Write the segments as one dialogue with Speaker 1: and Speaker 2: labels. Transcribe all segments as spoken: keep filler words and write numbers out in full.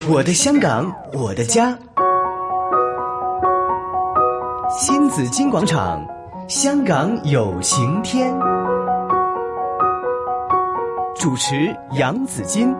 Speaker 1: 我的香港，我的家。新紫金广场，香港有晴天。主持杨紫金。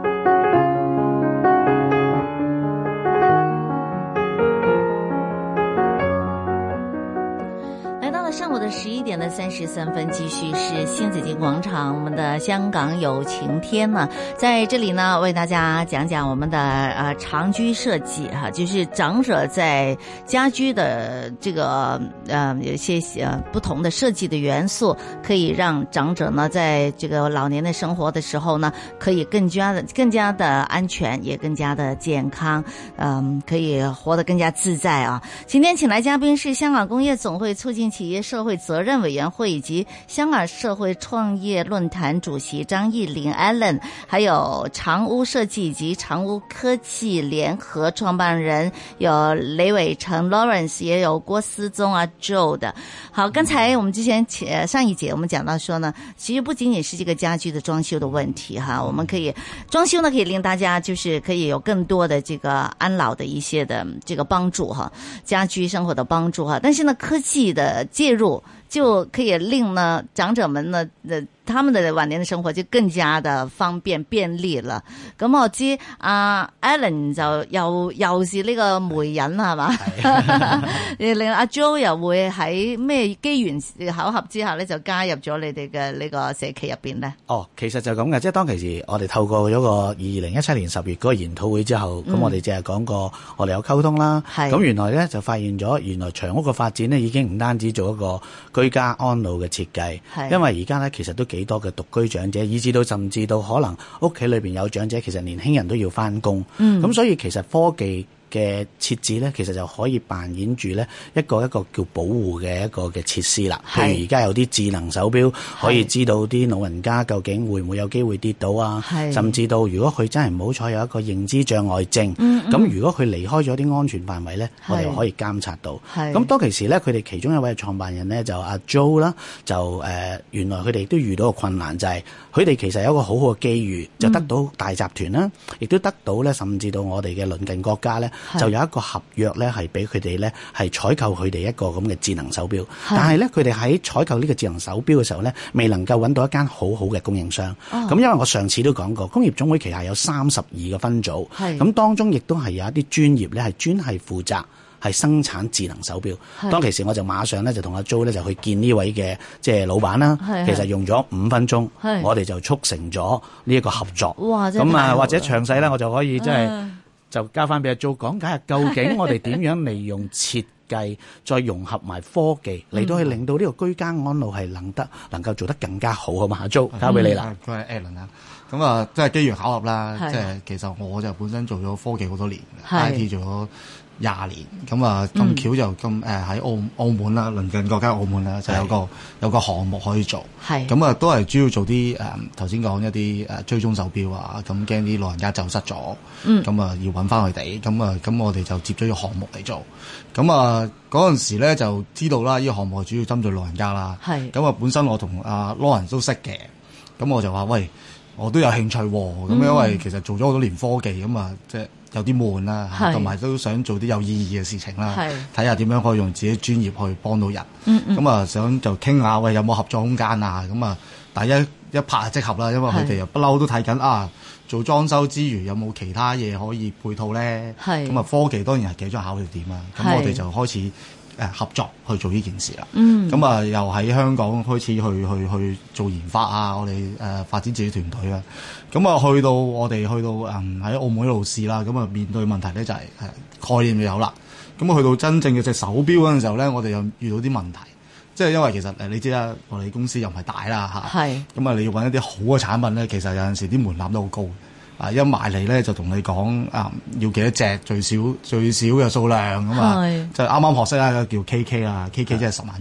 Speaker 2: 上午的十一点的三十三分，继续是新紫金广场，我们的香港有晴天呢，在这里呢为大家讲讲我们的呃长居设计哈、啊，就是长者在家居的这个呃有一些呃不同的设计的元素，可以让长者呢在这个老年的生活的时候呢，可以更加的更加的安全，也更加的健康，嗯，可以活得更加自在啊。今天请来嘉宾是香港工业总会促进企业社会责任委员会以及香港社会创业论坛主席张义林 Alan， 还有长屋设计以及长屋科技联合創辦人有雷偉成 Lawrence， 也有郭思宗啊 Joe 的。好，剛才我們之前上一節我們講到說呢，其實不僅僅是這個家居的裝修的問題哈，我們可以裝修呢可以令大家就是可以有更多的這個安老的一些的這個幫助哈，家居生活的幫助哈，但是呢科技的介入就可以令呢長者們呢的他們的晚年的生活就更加的方便便利啦。咁我知阿 Alan 就又又是呢個媒人係嘛，令阿 Joe 又會喺咩機緣巧合之下咧就加入咗你哋嘅呢個社企入邊咧？
Speaker 3: 哦，其實就咁嘅，即係當其時我哋透過咗個二零一七年十月嗰個研討會之後，咁、嗯、我哋淨係講過我哋有溝通啦。咁原來咧就發現咗，原來長屋嘅發展咧已經唔單止做一個居家安老嘅設計，因為而家咧其實都幾多嘅獨居長者，以至到甚至到可能屋企裏邊有長者，其實年輕人都要翻工，咁、嗯、所以其實科技嘅設置咧，其實就可以扮演住咧一個一個叫保護嘅一個嘅設施啦。譬如而家有啲智能手錶可以知道啲老人家究竟會唔會有機會跌倒啊，甚至到如果佢真係唔好彩有一個認知障礙症，咁、嗯嗯、如果佢離開咗啲安全範圍咧，我哋又可以監察到。咁當其時咧，佢哋其中一位創辦人咧就阿 Joe 啦，就誒、呃、原來佢哋都遇到個困難，就係佢哋其實有一個好好嘅機遇，就得到大集團啦，亦、嗯、都得到咧甚至到我哋嘅鄰近國家咧。就有一個合約咧，係俾佢哋咧係採購佢哋一個咁嘅智能手錶。但係咧，佢哋喺採購呢個智能手錶嘅時候咧，未能夠揾到一間好好嘅供應商。咁、哦、因為我上次都講過，工業總會旗下有三十二個分組，咁當中亦都係有一啲專業咧係專係負責係生產智能手錶。當其時我就馬上咧就同阿 Joe 咧就去見呢位嘅即係老闆啦。其實用咗五分鐘，我哋就促成咗呢一個合作。咁啊，或者詳細咧，我就可以即係。嗯就交翻俾阿 Joe 講解下，究竟我哋點樣利用設計，再融合埋科技嚟到去令到呢個居家安老係能得能夠做得更加好啊嘛。阿 Joe 交俾你啦。
Speaker 4: 佢係 Alan 啊，咁啊，即係機緣巧合啦。即係其實我就本身做咗科技好多年 ，I T 做咗廿年，咁啊咁巧就咁誒喺澳澳門啦，鄰近國家澳門啦，就有個有個項目可以做，咁啊都係主要做啲誒頭先講一啲誒追蹤手錶啊，咁驚啲老人家走失咗，咁、嗯、啊要揾翻佢哋，咁啊咁我哋就接咗個項目嚟做，咁啊嗰陣時咧就知道啦，呢、這個項目主要針對老人家啦，咁啊本身我同阿 Lawrence 都識嘅，咁我就話喂，我都有興趣喎，咁、嗯、因為其實做咗好多年科技咁啊，即係。有啲悶啦，同埋都想做啲有意義嘅事情啦，睇下點樣可以用自己專業去幫到人。咁、嗯、啊、嗯，想就傾下喂，有冇合作空間啊？咁啊，大家一拍即合啦，因為佢哋又不嬲都睇緊啊，做裝修之餘有冇其他嘢可以配套咧？咁啊，科技當然係其中考慮點啦。咁我哋就開始誒合作去做呢件事啦。咁、嗯、啊，又喺香港開始去去去做研發啊，我哋誒、呃、發展自己團隊啊。咁啊，去到我哋去到誒喺澳門度試啦，咁啊面對問題咧就係、是、概念就有啦。咁啊去到真正嘅隻手錶嗰陣時候咧，我哋又遇到啲問題，即係因為其實誒你知啦，我哋公司又唔係大啦嚇，咁啊你要揾一啲好嘅產品咧，其實有陣時啲門檻都好高。啊！一埋嚟咧就同你講啊，要幾多隻最少最少嘅數量咁啊，就啱啱學識啦，叫 K K 啦，K K 即係十萬隻。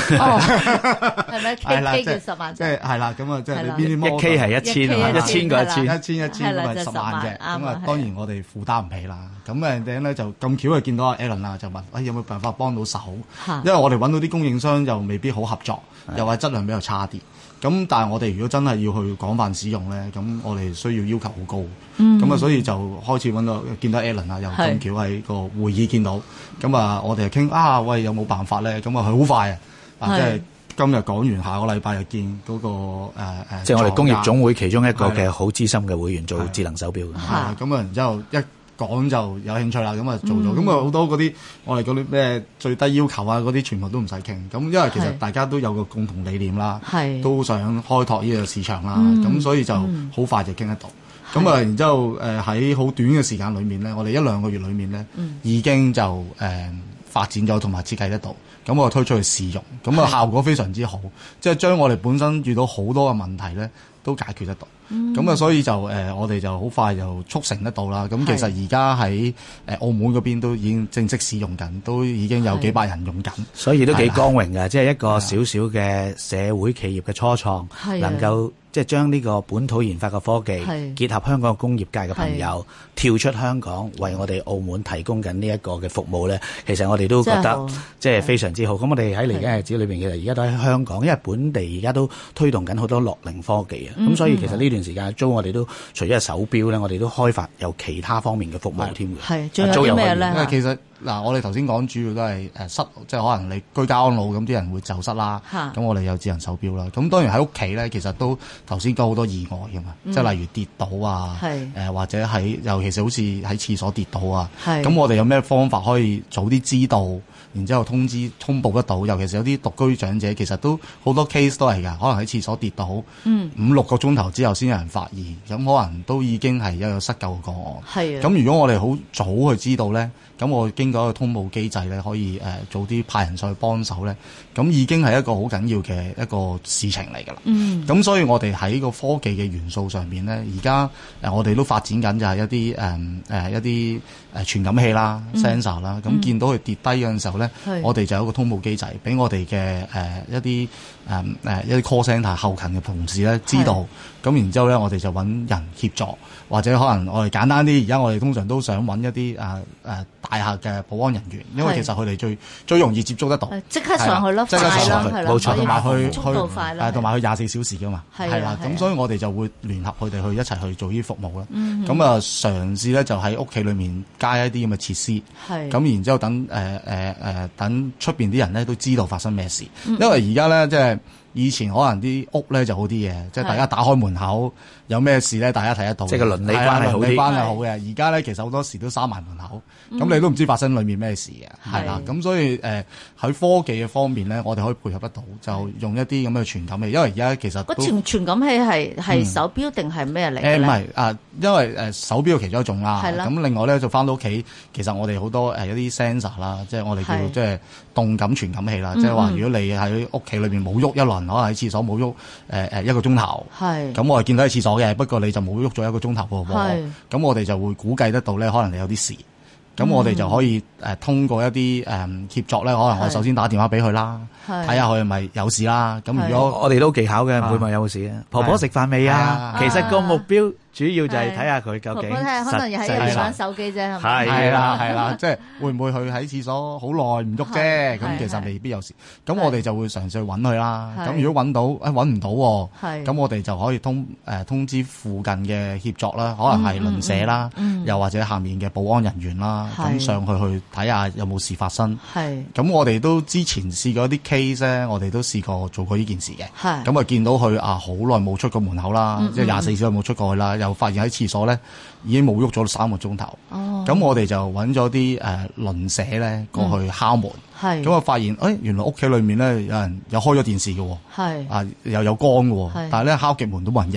Speaker 2: 哦，係咪 K K 叫十萬隻？
Speaker 4: 即係係啦，咁啊，即係你邊啲
Speaker 3: 一 K 係一千啊，一千個一千，
Speaker 4: 一千一千咁啊十萬隻，咁啊當然我哋負擔唔起啦。咁誒頂咧就咁巧就見到阿 Alan 啦，就問：誒有冇辦法幫到手？因為我哋揾到啲供應商又未必好合作，又話質量比較差啲。咁但係我哋如果真係要去廣泛使用咧，咁我哋需要要求好高。咁啊、嗯，所以就開始揾到見到 Alan 啊，又咁巧喺個會議見到。咁啊，我哋就傾啊，喂有冇辦法咧？咁啊，佢好快啊！啊，即係今日講完，下個禮拜就見嗰、那個誒誒，呃、
Speaker 3: 即係我哋工業總會其中一個嘅好資深嘅會員做智能手錶嘅。
Speaker 4: 係咁啊，然之後一講就有興趣啦，咁啊做咗，咁啊好多嗰啲我哋嗰啲咩最低要求啊，嗰啲全部都唔使傾。咁因為其實大家都有個共同理念啦，都想開拓呢個市場啦，咁、嗯、所以就好快就傾得到。咁啊、嗯，然之後誒喺好短嘅時間裏面咧，我哋一兩個月裏面咧，嗯、已經就誒、呃、發展咗同埋設計得到。咁我推出去試用，咁啊效果非常之好，即係將我哋本身遇到好多嘅問題咧，都解決得到。咁啊、嗯，所以就誒、呃，我哋就好快就促成得到啦。咁其實而家喺誒澳門嗰邊都已經正式使用緊，都已經有幾百人用緊，
Speaker 3: 所以都幾光榮㗎。即係一個小小嘅社會企業嘅初創，能夠即係將呢個本土研發嘅科技結合香港工業界嘅朋友，跳出香港為我哋澳門提供緊呢一個嘅服務咧。其實我哋都覺得即係非常之好。咁我哋喺嚟緊嘅日子裏邊，其實而家都喺香港，因為本地而家都推動緊好多樂齡科技啊。咁、嗯、所以其實呢段時間租我哋都除咗係手錶咧，我哋都開發有其他方面嘅服務添嘅。
Speaker 2: 係，仲有啲咩咧？
Speaker 4: 因為其實嗱，我哋頭先講主要都係誒失，即係可能你居家安老咁，啲人會走失啦。咁我哋有智能手錶啦。咁當然喺屋企咧，其實都頭先講好多意外㗎嘛，嗯、即係例如跌倒啊，誒、呃、或者喺尤其是好似喺廁所跌倒啊。咁我哋有咩方法可以早啲知道，然之後通知通報得到？尤其是有啲獨居長者，其實都好多 case 都係㗎，可能喺廁所跌倒，嗯、五六個鐘頭之後先有人發現，咁可能都已經係一個失救嘅個案。係啊。咁如果我哋好早去知道咧，咁我經過一個通報機制咧，可以誒、呃、早啲派人上去幫手咧，咁已經係一個好緊要嘅一個事情嚟㗎啦。嗯。咁所以我哋喺個科技嘅元素上邊咧，而家誒我哋都發展緊就係一啲誒誒一啲誒傳感器啦、嗯、sensor 啦。咁見到佢跌低嗰陣時候咧，嗯、我哋就有一個通報機制，俾我哋嘅誒一啲誒誒一啲 call centre 後勤嘅同事咧知道。咁然之後咧，我哋就揾人協助，或者可能我哋簡單啲，而家我哋通常都想揾一啲誒誒大廈嘅保安人員，因為其實佢哋最最容易接觸得到，
Speaker 2: 即刻上去咯，
Speaker 4: 即刻上去，冇錯，同埋去
Speaker 2: 速度快啦，
Speaker 4: 同埋去廿四小時噶嘛，係啦，咁所以我哋就會聯合佢哋去一齊去做呢啲服務啦。咁啊，嘗試咧就喺屋企裏面加一啲咁嘅設施，咁然之後等誒誒誒等出邊啲人咧都知道發生咩事，因為而家咧即係。以前可能啲屋咧就好啲嘅，即係大家打開門口有咩事咧，大家睇得到。即係個鄰里關係好啲。鄰里關係好嘅。而家咧其實好多時都閂埋門口，咁、嗯、你都唔知發生裏面咩事嘅，係啦。咁所以誒喺、呃、科技嘅方面咧，我哋可以配合得到，就用一啲咁嘅傳感器。因為而家其實個
Speaker 2: 傳傳感器係係手錶定係咩嚟嘅咧？誒唔係
Speaker 4: 啊，因為誒手錶其中一種啦。係啦。咁另外咧就翻到屋企，其實我哋好多誒一啲 sensor 啦，即係我哋叫即係動感傳感器啦。即係話如果你喺屋企裏面冇喐一輪。可能喺廁所冇喐誒誒一個鐘頭，係咁我係見到喺廁所嘅，不過你就冇喐咗一個鐘頭喎，係咁我哋就會估計得到咧，可能你有啲事，咁我哋就可以誒、呃、通過一啲誒、呃、協作咧，可能我首先打電話俾佢啦，睇下佢係咪有事啦。咁如果
Speaker 3: 我哋都技巧嘅，唔會問有冇事啊。婆婆食飯未啊？其實個目標。主要就係睇下佢究竟實際
Speaker 2: 可能又係玩手機啫，係
Speaker 3: 咪？
Speaker 4: 係啦，係啦，即係會唔會佢喺廁所好耐唔喐啫？咁其實未必有事。咁我哋就會嘗試去揾佢啦。咁如果揾到，誒揾唔到喎，咁我哋就可以通誒通知附近嘅協作啦，可能係鄰舍啦，又或者下面嘅保安人員啦，咁上去去睇下有冇事發生。係。咁我哋都之前試過一啲 case 咧，我哋都試過做過呢件事嘅。係。咁啊見到佢啊好耐冇出過門口啦，即係廿四小時冇出過去啦。又發現喺廁所咧已經冇喐咗三個鐘頭，咁、哦、我哋就揾咗啲誒鄰舍咧過去敲門，咁啊、嗯、發現誒、哎、原來屋企裏面咧有人有開咗電視嘅，係啊又有光嘅，但係咧敲極門都冇人應。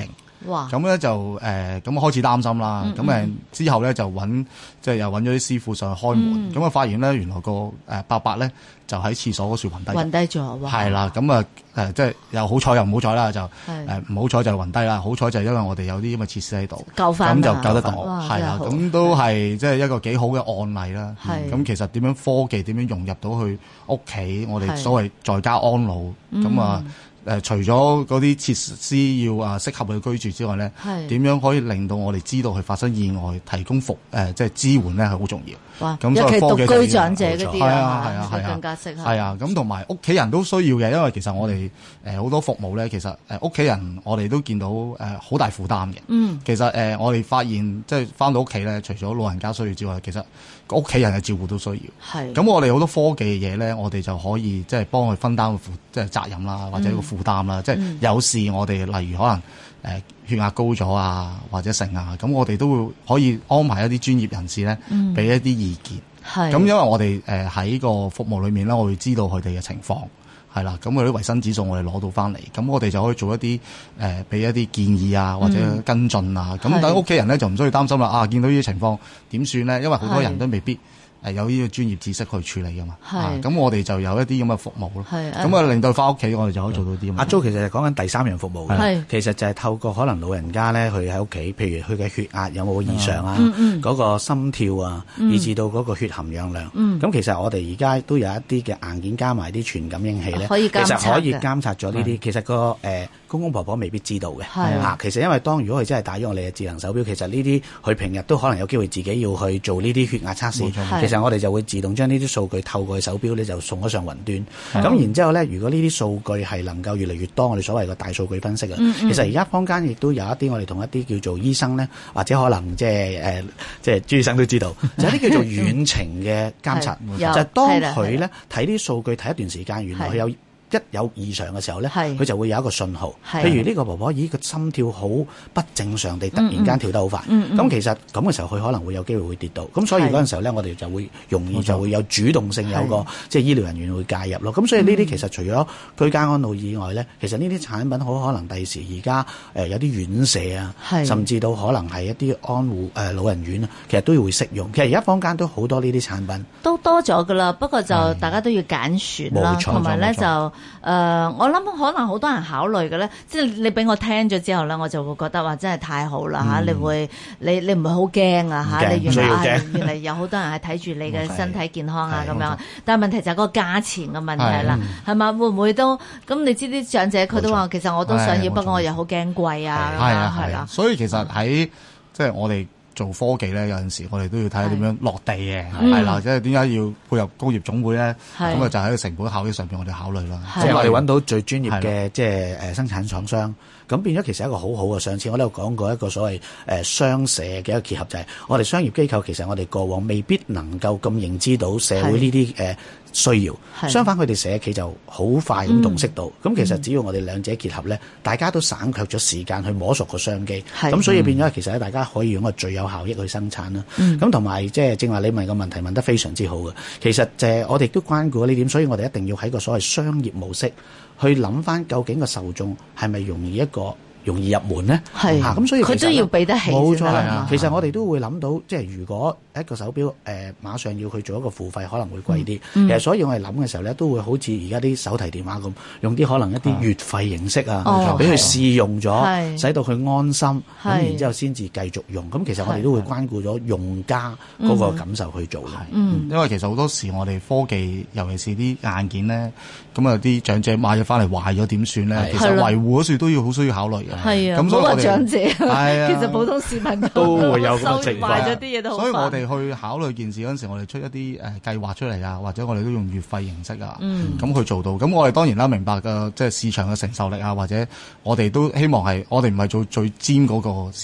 Speaker 2: 哇！
Speaker 4: 咁咧就誒咁、呃、開始擔心啦。咁、嗯嗯、之後咧就揾即係又揾咗啲師傅上去開門。咁啊、嗯、發現咧原來個誒伯伯咧就喺廁所嗰處暈低。
Speaker 2: 暈低咗。
Speaker 4: 係啦，咁啊誒即係又好彩又唔好彩啦，就誒唔好彩就暈低啦。好彩就係因為我哋有啲咁嘅設施喺度，
Speaker 2: 救翻
Speaker 4: 咁就救得到。係啦，咁都係即係一個幾好嘅案例啦。咁、嗯、其實點樣科技點樣融入到去屋企，我哋所謂在家安老咁啊。誒、呃，除咗嗰啲設施要啊適合佢居住之外咧，點樣可以令到我哋知道佢發生意外，提供服誒、呃、即係支援咧係好重要。
Speaker 2: 哇！
Speaker 4: 咁
Speaker 2: 尤其
Speaker 4: 所以科技
Speaker 2: 獨居長者嗰啲
Speaker 4: 係啊係啊係啊，
Speaker 2: 更加適合。
Speaker 4: 係啊，咁同埋屋企人都需要嘅，因為其實我哋誒好多服務咧，其實誒屋企人我哋都見到誒好、呃、大負擔嘅。嗯，其實誒、呃、我哋發現即係翻到屋企咧，除咗老人家需要之外，其實屋企人嘅照顧都需要。係。咁我哋好多科技嘅嘢咧，我哋就可以即係幫佢分擔個負即係責任啦，或者個負擔啦，嗯、即係有事我哋例如可能誒、呃、血壓高咗啊，或者成啊，咁我哋都會可以安排一啲專業人士咧，俾、嗯、一啲意見。係。咁因為我哋誒喺個服務裏面咧，我會知道佢哋嘅情況係啦，咁佢啲維生指數我哋攞到翻嚟，咁我哋就可以做一啲誒俾一啲建議啊，或者跟進啊。咁等屋企人咧就唔需要擔心啦。啊，見到呢啲情況點算咧？因為好多人都未必誒有呢個專業知識去處理噶嘛，咁、啊、我哋就有一啲咁嘅服務咯，咁啊令到翻屋企我哋就可以做到啲。阿 Jo
Speaker 3: 其實係講緊第三樣服務嘅，其實就係透過可能老人家咧，佢喺屋企，譬如佢嘅血壓有冇異常啊，嗰、嗯嗰個心跳啊，嗯、以至到嗰個血含氧量，咁、嗯、其實我哋而家都有一啲嘅硬件加埋啲傳感應器咧，其實可以監察咗呢啲。其實、嗰個誒、呃、公公婆婆未必知道嘅，嚇。其實因為當如果佢真係戴咗我哋嘅智能手錶，其實呢啲佢平日都可能有機會自己要去做呢啲血壓測試，其實我哋就會自動將呢啲數據透過手錶咧就送咗上雲端。咁然之後咧，如果呢啲數據係能夠越嚟越多，我哋所謂嘅大數據分析啊，嗯嗯、其實而家坊間亦都有一啲我哋同一啲叫做醫生咧，或者可能即係誒即係朱醫生都知道，就係啲叫做遠程嘅監察，就係當佢咧睇啲數據睇一段時間，原來佢有一有異常嘅時候咧，佢就會有一個信號。譬如呢個婆婆，咦個心跳好不正常地突然間跳得好快。咁、嗯嗯、其實咁嘅時候，佢可能會有機會會跌倒。咁所以嗰陣時候咧，我哋就會容易就會有主動性，有個即係醫療人員會介入咯。咁所以呢啲其實除咗居家安老以外咧，其實呢啲產品好可能第時而家誒有啲院舍啊，甚至到可能係一啲安護誒、呃、老人院啊，其實都要會適用。其實而家坊間都好多呢啲產品，都多咗噶啦。不過就大家都要揀選啦，同埋咧就誒、呃，我諗可能好多人考慮嘅咧，即係你俾我聽咗之後咧，我就會覺得話真係太好啦嚇、嗯！你會你你唔會好驚啊嚇！你原來原來有好多人係睇住你嘅身體健康啊咁樣，但係問題就係嗰個價錢嘅問題啦，係嘛？會唔會都咁？你知啲長者佢都話其實我都想要，不過我又好驚貴啊，係啊係啦。所以其實喺即係我哋做科技咧，有陣時我哋都要睇下點樣落地嘅，係啦，即係點解要配合工業總會咧？咁啊就喺個成本效益上邊我哋考慮啦。即係我哋揾到最專業嘅即係誒生產廠商，咁變咗其實一個好好嘅。上次我都有講過一個所謂誒商社嘅一個結合，就係我哋商業機構其實我哋過往未必能夠咁認知到社會呢啲誒需要，相反佢哋社企就好快咁洞悉到。咁、嗯、其實只要我哋兩者結合咧，大家都省卻咗時間去摸索個商機，咁所以變咗其實咧，大家可以用個最有效益去生產啦。咁同埋即係正話你問個問題問得非常之好嘅，其實就係我哋都關顧咗呢點，所以我哋一定要喺個所謂商業模式去諗翻究竟個受眾係咪容易一個容易入門咧，係嚇咁，所以佢都要俾得起。冇錯啦，其實我哋都會諗到，即係如果一個手錶誒、呃、馬上要去做一個付費，可能會貴啲。嗯、其實所以我哋諗嘅時候咧，都會好似而家啲手提電話咁，用啲可能一啲月費形式啊，俾佢試用咗，使到佢安心，咁然之後先至繼續用。咁其實我哋都會關顧咗用家嗰個感受去做嘅。嗯，因為其實好多時我哋科技，尤其是啲硬件咧，咁啊啲長者買咗翻嚟壞咗點算咧？其實維護嗰時都要好需要考慮嘅。係啊，咁所以我哋長者，其實普通市民都會有咁嘅情況，咗啲嘢都好。所以我哋去考慮件事嗰陣時，我哋出一啲誒計劃出嚟啊，或者我哋都用月費形式啊，咁、嗯、去做到。咁我哋當然啦，明白嘅即係市場嘅承受力啊，或者我哋都希望係我哋唔係做最尖嗰個市場。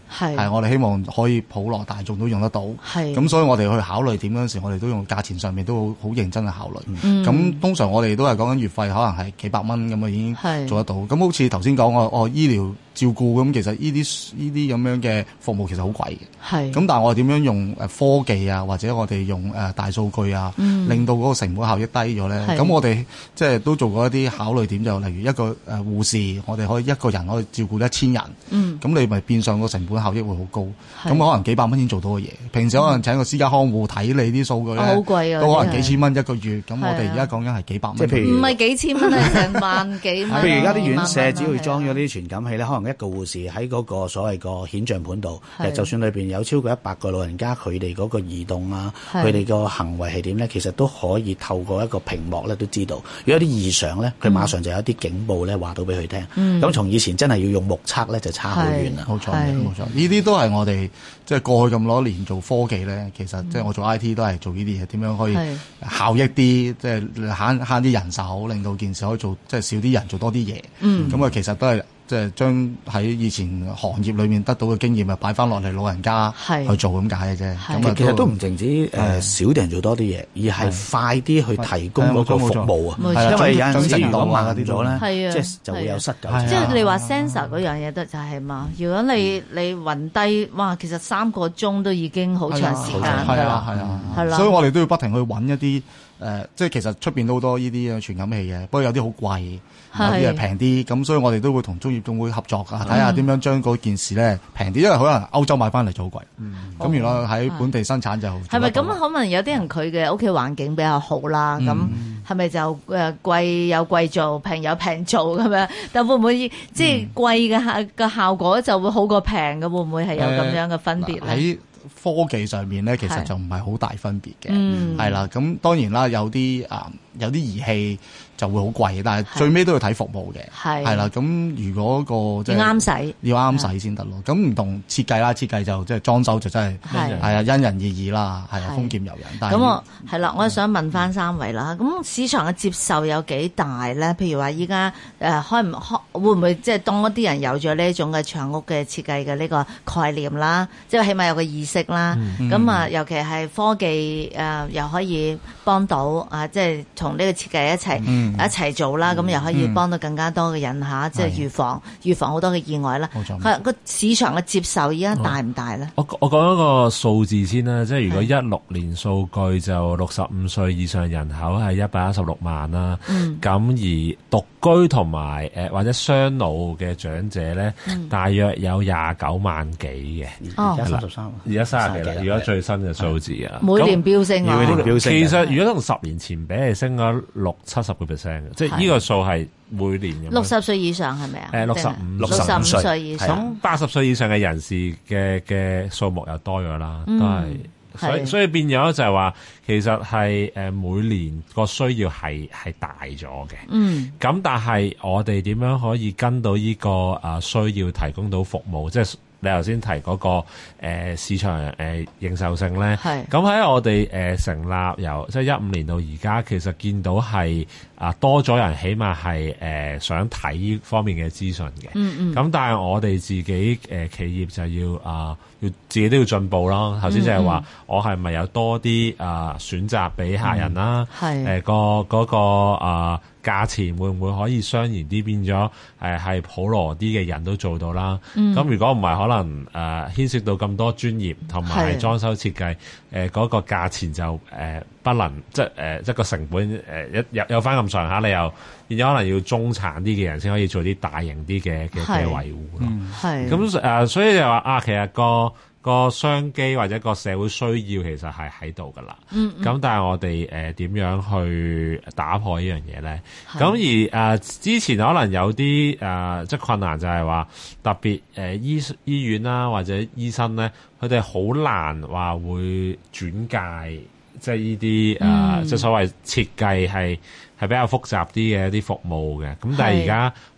Speaker 4: 係係我哋希望可以普羅大眾都用得到。係咁，所以我哋去考慮點嗰陣時，我哋都用價錢上面都好好認真去考慮。咁、嗯、通常我哋都係講緊月費，可能係幾百蚊咁啊，已經做得到。咁好似頭先講我哦醫療照顧咁，其實呢啲呢啲咁樣嘅服務其實好貴嘅。係咁，但係我哋點樣用誒科技啊，或者我哋用誒大數據啊，嗯、令到嗰個成本效益低咗咧？咁我哋即係都做過一啲考慮點，就例如一個誒護士，我哋可以一個人可以照顧一千人。嗯，咁你咪變相個成本效益會好高。咁可能幾百蚊已經做到嘅嘢，平時可能請個私家看護睇你啲數據咧，好貴啊，都可能幾千蚊一個月。咁我哋而家講緊係幾百蚊。即係譬如唔係幾千蚊係成萬幾蚊。
Speaker 3: 譬如而家啲院舍只要裝咗啲傳感器咧，可能一個護士喺嗰個所謂個顯像盤度，其實就算裏邊有超過一百個老人家，佢哋嗰個移動啊，佢哋個行為係點咧，其實都可以透過一個屏幕咧都知道。如果有啲異常咧，佢馬上就有啲警報咧話到俾佢聽。咁從、嗯、以前真係要用目測咧，就差好遠啦。冇錯，冇錯，呢啲都係我哋即係過去咁多年做科技咧，其實即係我做 I T 都係做呢啲嘢，點樣可以效益啲，即係慳慳啲人手，令到件事可以做即係少啲人做多啲嘢。嗯，咁啊，其實都係。即係將喺以前行業裏面得到嘅經驗，咪擺翻落嚟老人家去做咁解嘅啫。咁其實都唔淨止誒少啲人做多啲嘢，而係快啲去提供嗰個服務啊。因為有陣時如果慢咗咧，即係就會有失救。即係你話 sensor 嗰樣嘢得就係嘛？如果你你暈低，哇，其實三個鐘都已經好長時間㗎。係啊係啊，係啦。所以我哋都要不停去揾一啲誒，即係其實出邊都好多呢啲傳感器嘅，不過有啲好貴。有啲係平啲，咁所以我哋都會同中業總會合作啊，睇下點樣將嗰件事咧平啲，因為可能歐洲買翻嚟就好貴，咁、嗯、原來喺本地生產就係咪咁？可能有啲人佢嘅屋企環境比較好啦，咁係咪就誒貴有貴做，平有平做咁樣？但會唔會即係貴嘅效嘅效果就會好過平嘅？會唔會係有咁樣嘅分別咧？喺、呃、科技上面咧，其實就唔係好大分別嘅，係啦、嗯。咁當然啦，有啲啊、呃、有啲儀器。就會好貴，但係最尾都要睇服務嘅，係啦。咁如果個即係啱使，要啱使先得咯。咁唔同設計啦，設計就即係裝修就真係係啊，因人而異啦，係啊，豐儉由人。咁我係啦，我想問翻三位啦。咁市場嘅接受有幾大咧？譬如話依家誒開唔開，會唔會即係當一啲人有咗呢一種嘅長屋嘅設計嘅呢個概念啦，即係起碼有個意識啦。咁啊，尤其係科技誒又可以幫到啊，即係同呢個設計一齊。一齊做啦，咁、嗯、又可以幫到更加多嘅人嚇，即係預防的預防好多嘅意外啦。冇錯，係個市場嘅接受而家大唔大咧？我我講一個數字先啦，即係如果一六年數據就六十五歲以上人口係一百一十六萬啦。嗯，咁而獨居同埋誒或者雙老嘅長者咧，嗯、大約有廿九萬幾嘅。而家三十三，而家三十幾啦。如果最新嘅數字啊，每年飆升啊，每年飆升。其實如果同十年前比，係升咗六七十個 percent 嘅，即係呢個數係每年咁。六十歲以上係咪啊？誒，六十五、六十五歲以上。咁八十歲以上嘅人士嘅嘅數目又多咗啦，嗯、都係。所以所以變咗就係話，其實係誒每年個需要係係大咗嘅。嗯。咁但係我哋點樣可以跟到呢個啊需要提供到服務？即係你頭先提嗰個誒市場誒認受性咧。係。咁喺我哋誒成立由即係一五年到而家，其實見到係啊多咗人，起碼係誒想睇呢方面嘅資訊嘅。嗯嗯。咁但係我哋自己誒企業就要啊要自己都要進步啦。頭先就係話我係咪有多啲啊選擇俾客人啦？係。誒個嗰個啊價錢會唔會可以相宜啲，變咗誒係普羅啲嘅人都做到啦？咁如果唔係，可能誒牽涉到咁多專業同埋裝修設計，誒嗰個價錢就誒不能即係誒即係個成本誒有有翻咁上下，你又變咗可能要中產啲嘅人先可以做啲大型啲嘅嘅嘅維護咯。係咁誒，所以就話啊，其實個個商機或者個社會需要其實係喺度噶啦，咁、嗯嗯、但係我哋誒點樣去打破呢樣嘢咧？咁是而誒、呃、之前可能有啲誒、呃、即係困難就係話特別誒、呃、醫醫院啦或者醫生咧，佢哋好難話會轉介，即係呢啲誒即係所謂設計係係比較複雜啲嘅一啲服務嘅。咁但係而家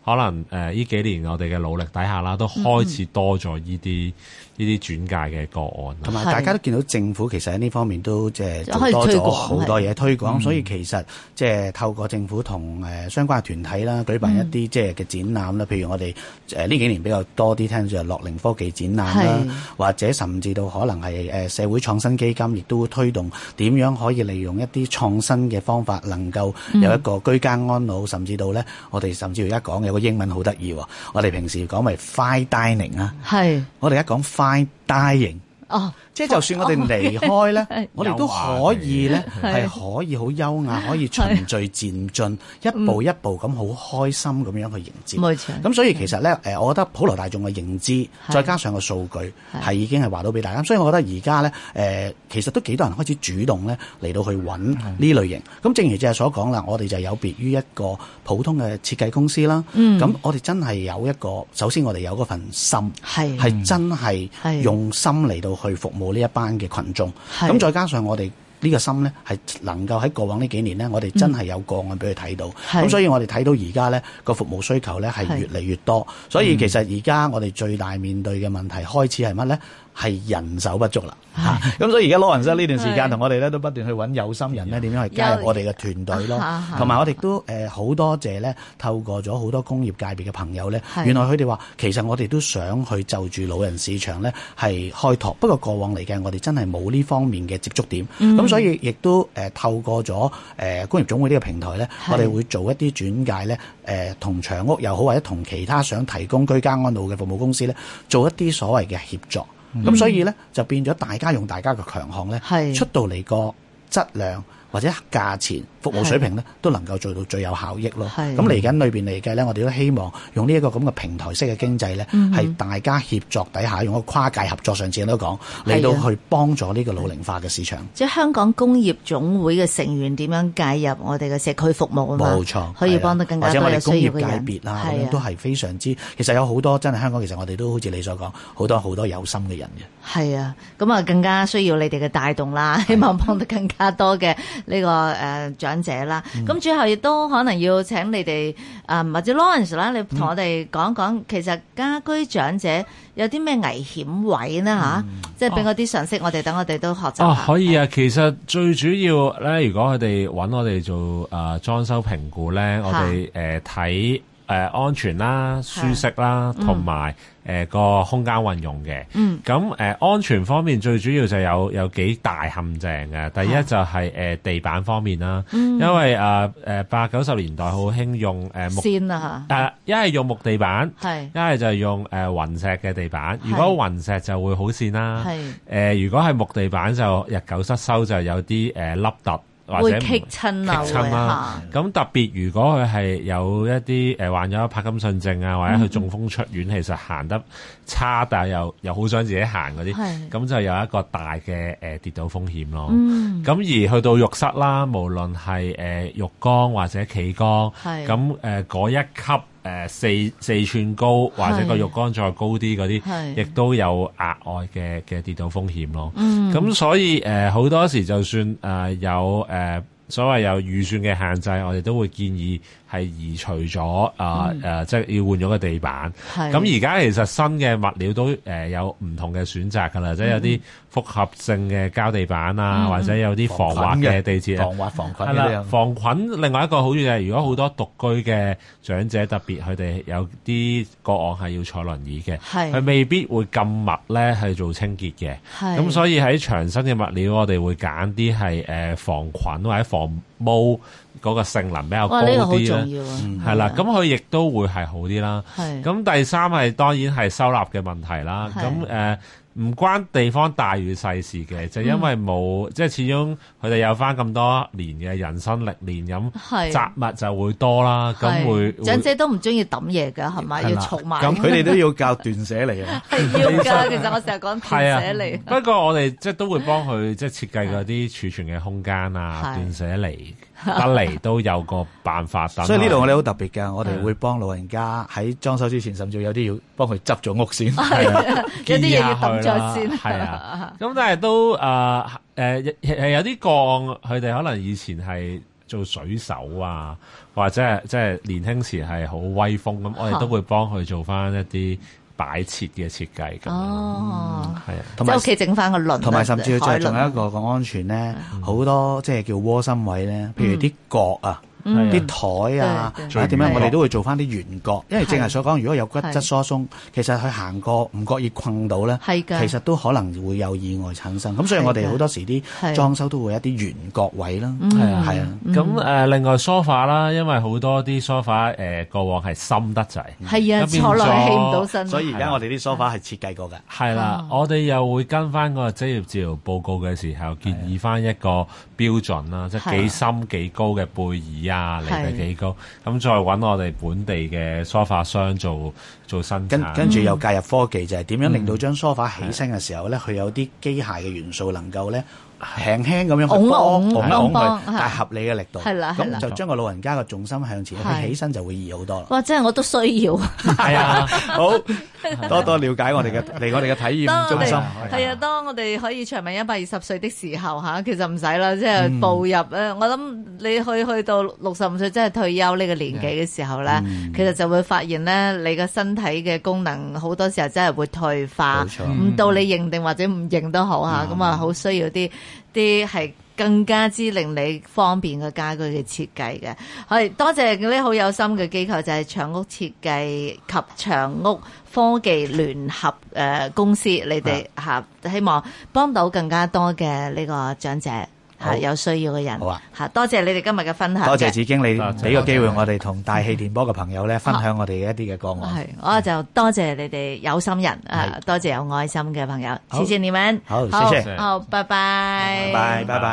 Speaker 5: 可能誒呢、呃、幾年我哋嘅努力底下啦，都開始多咗呢啲呢啲轉介嘅個案。
Speaker 3: 同埋大家都見到政府其實喺呢方面都即係做多咗好多嘢推廣，所以其實即係透過政府同誒相關嘅團體啦，舉辦一啲即係嘅展覽啦，譬如我哋誒呢幾年比較多啲聽就係樂齡科技展覽啦，或者甚至到可能係誒社會創新基金亦都會推動點樣可以利用一啲創新嘅方法，能夠有一個居家安老，甚至到咧我哋甚至而家講有個英文好得意喎，我哋平時講咪 fine dining 啊，係我哋而家講 fine dying。哦，即係就算我哋離開咧，哦、我哋都可以咧，係可以好優雅，可以循序漸進，一步一步咁好開心咁樣去迎接。冇錯。咁所以其實咧，誒，我覺得普羅大眾嘅認知，再加上個數據，係已經係話到俾大家。所以我覺得而家咧，誒、呃，其實都幾多人開始主動咧嚟到去揾呢類型。咁正如正係所講啦，我哋就有別於一個普通嘅設計公司啦。嗯。咁我哋真係有一個，首先我哋有嗰份心，係係真係用心嚟到去服務呢一班嘅群眾，咁再加上我哋呢個心咧，係能夠喺過往呢幾年咧，我哋真係有個案俾佢睇到，咁、嗯、所以我哋睇到而家咧個服務需求咧係越嚟越多，所以其實而家我哋最大面對嘅問題開始係乜咧？係人手不足啦，嚇！咁所以而家老人室呢段時間同我哋咧都不斷去揾有心人咧，點樣去加入我哋嘅團隊咯，同埋我哋都誒好多謝咧，透過咗好多工業界別嘅朋友咧，原來佢哋話其實我哋都想去就住老人市場咧係開拓，不過過往嚟嘅我哋真係冇呢方面嘅接觸點，咁、嗯、所以亦都誒、呃、透過咗誒工業總會呢個平台咧，我哋會做一啲轉介咧，誒、呃、同長屋又好或者同其他想提供居家安老嘅服務公司咧，做一啲所謂嘅協作。咁、嗯、所以咧就變咗大家用大家嘅強項咧，出到嚟個質量或者價錢服務水平咧，都能夠做到最有效益咯。咁嚟緊裏邊嚟計咧，我哋都希望用呢一個咁嘅平台式嘅經濟咧，係、嗯、大家協作底下用一個跨界合作，上次都講嚟到去幫助呢個老齡化嘅市場。即係香港工業總會嘅成員點樣介入我哋嘅社區服務啊嘛？冇錯，可以幫得更加多有需要嘅人。或者我哋工業界別啦，咁樣都係非常之。其實有好多真係香港，其實我哋都好似你所講，好多好多有心嘅人嘅。係啊，咁啊更加需要你哋嘅帶動啦，希望幫得更加多嘅呢、這個誒、呃、長者啦。咁、嗯、最後亦都可能要請你哋啊、呃、或者 Lawrence 啦，你同我哋講講、嗯，其實家居長者有啲咩危險位呢？吓、嗯，即係俾我啲常識，我哋等我哋都學習下。哦，可以啊。其實最主要咧，如果佢哋揾我哋做誒裝修評估咧，我哋誒睇誒安全啦、舒適啦，同埋誒個空間運用嘅。嗯。咁誒、呃、安全方面最主要就有有幾大陷阱嘅。第一就係、是、誒、呃、地板方面啦。嗯。因為誒誒八九十年代好興用誒、呃、木線啊嚇。誒一係用木地板，係一係就用誒雲、呃、石嘅地板。如果雲石就會好線啦。係。誒、呃、如果係木地板就日久失修，就有啲誒凹凸。或者棘親啊！咁特別，如果佢係有一啲誒、呃、患咗帕金遜症啊，或者佢中風出院，嗯、其實行得差，但係又又好想自己行嗰啲，咁就有一個大嘅誒、呃、跌倒風險咯。咁、嗯、而去到浴室啦，無論係誒、呃、浴缸或者企缸，咁誒嗰一級。誒、呃、四四寸高或者個浴缸再高啲嗰啲，亦都有額外嘅嘅跌倒風險咯。咁、嗯、所以誒好、呃、多時就算誒、呃、有誒、呃、所謂有預算嘅限制，我哋都會建議係移除咗啊誒，即係要換咗個地板。咁而家其實新嘅物料都誒、呃、有唔同嘅選擇㗎啦，即係有啲複合性嘅膠地板啊，嗯、或者有啲防滑嘅地墊，防滑防菌嘅。防菌另外一個好處就係，如果好多獨居嘅長者，特別佢哋有啲個案係要坐輪椅嘅，佢未必會咁密咧去做清潔嘅。咁所以喺長身嘅物料，我哋會揀啲係誒防菌或者防毛嗰個性能比較高啲咧。哇！呢個好重要啊。係啦，咁佢亦都會係好啲啦。咁第三係當然係收納嘅問題啦。咁誒。唔關地方大與細事嘅，就因為冇、嗯、即係始終佢哋有翻咁多年嘅人生歷練，咁雜物就會多啦。咁會長者都唔中意抌嘢㗎，係咪？要儲埋。咁佢哋都要教斷捨離啊。係要㗎，其實我成日講斷捨離。不過我哋即係都會幫佢即係設計嗰啲儲存嘅空間啊，斷捨離得嚟都有個辦法。所以呢度我哋好特別㗎，我哋會幫老人家喺裝修之前，甚至有啲要幫佢執咗屋先，係啊，有啲嘢要抌咗先。係啊，咁但係都誒誒係有啲個案，佢哋可能以前係
Speaker 5: 做水手啊，或者係即係年輕時係好威風咁，我哋都會幫佢做翻一啲擺設嘅設計咁。
Speaker 2: 哦，
Speaker 5: 係啊，
Speaker 2: 即係屋企整翻個輪，
Speaker 3: 同埋甚至仲仲有一個個安全咧，好、嗯、多即係叫窩心位咧，譬如啲角啊。啲台啊，或者點樣，我哋都會做翻啲圓角，因為正係所講，如果有骨質疏鬆，其實佢行過唔覺意困到咧，其實都可能會有意外產生。咁所以我哋好多時啲裝修都會有一啲圓角位啦，係啊，係啊。
Speaker 5: 咁誒，另外梳化啦，因為好多啲梳化誒過往係深得滯，
Speaker 2: 係啊，坐落起唔到身。
Speaker 3: 所以而家我哋啲梳化係設計過嘅。
Speaker 5: 係啦，我哋又會跟翻個職業治療報告嘅時候，建議翻一個標準啦，即係幾深幾高嘅背椅啊，離地幾高，咁再揾我哋本地嘅梳化商做做生產，
Speaker 3: 跟跟住又介入科技，就係點樣令到張梳化起身嘅時候咧，佢有啲機械嘅元素能夠咧輕輕咁樣去幫幫佢，但係合理嘅力度，係啦，咁就將個老人家嘅重心向前，佢起身就會易好多啦。
Speaker 2: 哇！真係我都需要。
Speaker 3: 係啊，好多多了解我哋嘅嚟我哋嘅體驗中心。
Speaker 2: 係啊，當我哋可以長命一百二十歲的時候嚇，其實唔使啦，即係步入咧。我諗你去去到六十五歲，即係退休呢個年紀嘅時候咧，其實就會發現咧，你嘅身體嘅功能好多時候真係會退化，唔到你認定或者唔認都好嚇，咁啊好需要啲。啲係更加之令你方便嘅家居嘅設計嘅，係多謝嗰啲好有心嘅機構，就係長屋設計及長屋科技聯合誒、呃、公司，你哋嚇希望幫到更加多嘅呢個長者。係有需要嘅人，好啊！嚇，多謝你哋今日嘅分享。
Speaker 3: 多謝子經理俾個機會我哋同大氣電波嘅朋友咧分享我哋一啲嘅個案。
Speaker 2: 係，我就多謝你哋有心人啊，多謝有愛心嘅朋友，謝謝你們。
Speaker 3: 好，謝謝。
Speaker 2: 好，拜拜。
Speaker 3: 拜拜，拜拜。